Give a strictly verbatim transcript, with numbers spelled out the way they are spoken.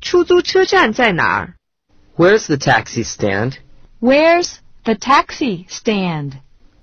出租车站在哪儿？ Where's the taxi stand? Where's the taxi stand?